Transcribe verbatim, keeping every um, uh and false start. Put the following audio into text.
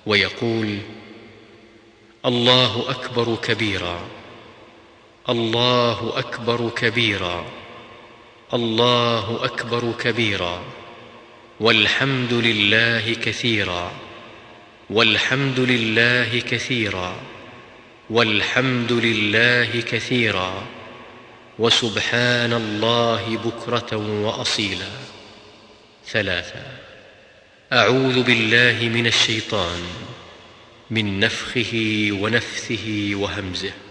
ويقول: الله أكبر كبيرا، الله أكبر كبيرا، الله أكبر كبيرا، والحمد لله كثيرا، والحمد لله كثيرا، والحمد لله كثيرا، وسبحان الله بكرة وأصيلا. ثلاثة: أعوذ بالله من الشيطان، من نفخه ونفثه وهمزه.